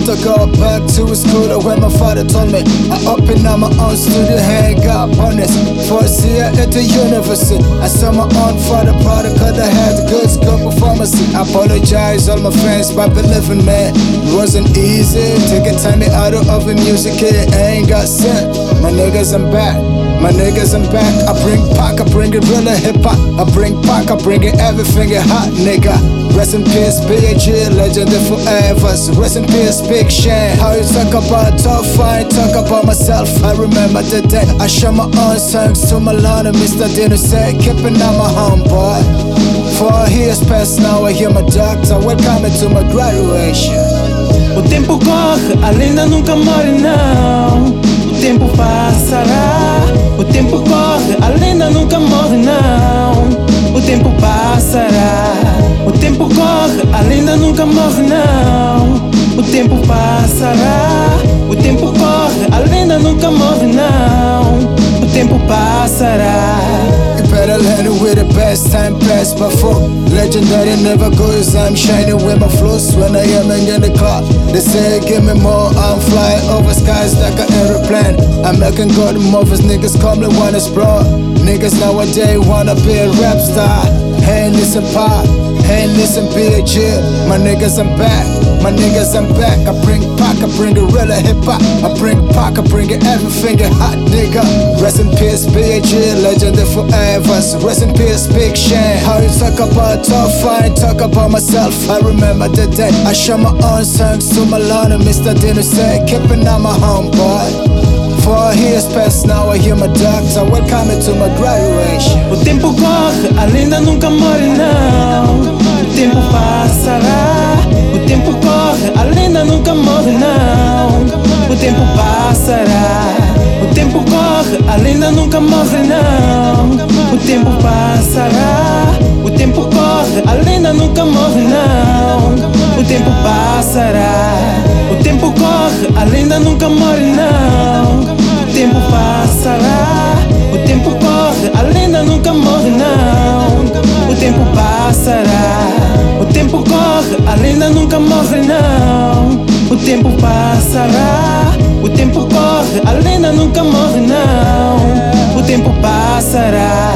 to go back to school when my father told me I open up my own studio, hang up on this. First year at the university, I saw my own father product, cause I had good school performance. I apologize all my fans by believing, man, it wasn't easy to get time out of the music, it ain't got sent. My niggas, I'm back. My niggas, I'm back. I bring Pac, I bring it real hip hop. I bring Pac, I bring it everything it hot, nigga. Rest in peace, B.A.G, legend forever. So rest in peace, Big Shane. How you talk about tough, I ain't talk about myself. I remember the day I shot my own songs to Milan and Mr. Dino said, keeping on my homeboy. 4 years past now, I hear my doctor. Welcome to my graduation. O tempo corre, a lenda nunca morre, não. O tempo passará. O tempo corre, a lenda nunca morre, não. O tempo passará. O tempo corre, a lenda nunca morre, não. O tempo passará. O tempo corre, a lenda nunca morre, não. O tempo passará. You better learn it with the best time passed before. Legendary never goes, I'm shining with my flows when I am in the cloud. They say give me more, I'm flying over skies like an aeroplane. I'm making good movies, niggas call me one is bro. Niggas nowadays wanna be a rap star. Hey listen Pop, hey listen B.A.G, my niggas I'm back. My niggas, I'm back. I bring Pac, I bring it real hip hop. I bring Pac, I bring it everything it hot, nigga. Rest in peace, B.A.G, legend forever. So rest in peace, Big Shane. How you talk about tough, I ain't talk about myself. I remember the day I shot my own songs to Milan and Mr. Dino said, keeping on my homeboy. 4 years past now, I hear my doctor. Welcome to my graduation. O tempo corre, a lenda nunca morre, não. O tempo passará. O tempo corre, a lenda nunca morre, não. O tempo passará. O tempo corre, a lenda nunca morre, não. O tempo passará. O tempo corre, a lenda nunca morre, não. O tempo passará. O tempo corre, a lenda nunca morre, não. O tempo passará. O tempo corre, a lenda nunca morre, não. O tempo passará. O tempo corre, a lenda nunca morre, não. O tempo passará. O tempo corre, a lenda nunca morre, não. O tempo passará.